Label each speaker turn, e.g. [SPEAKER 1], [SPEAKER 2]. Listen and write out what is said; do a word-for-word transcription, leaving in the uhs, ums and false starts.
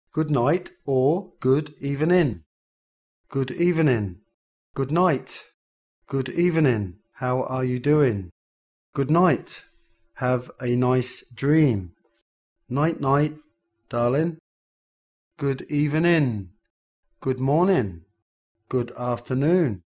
[SPEAKER 1] good night or good evening. Good evening. Good night. Good evening. How are you doing? Good night. Have a nice dream. Night night, darling. Good evening. Good morning. Good afternoon.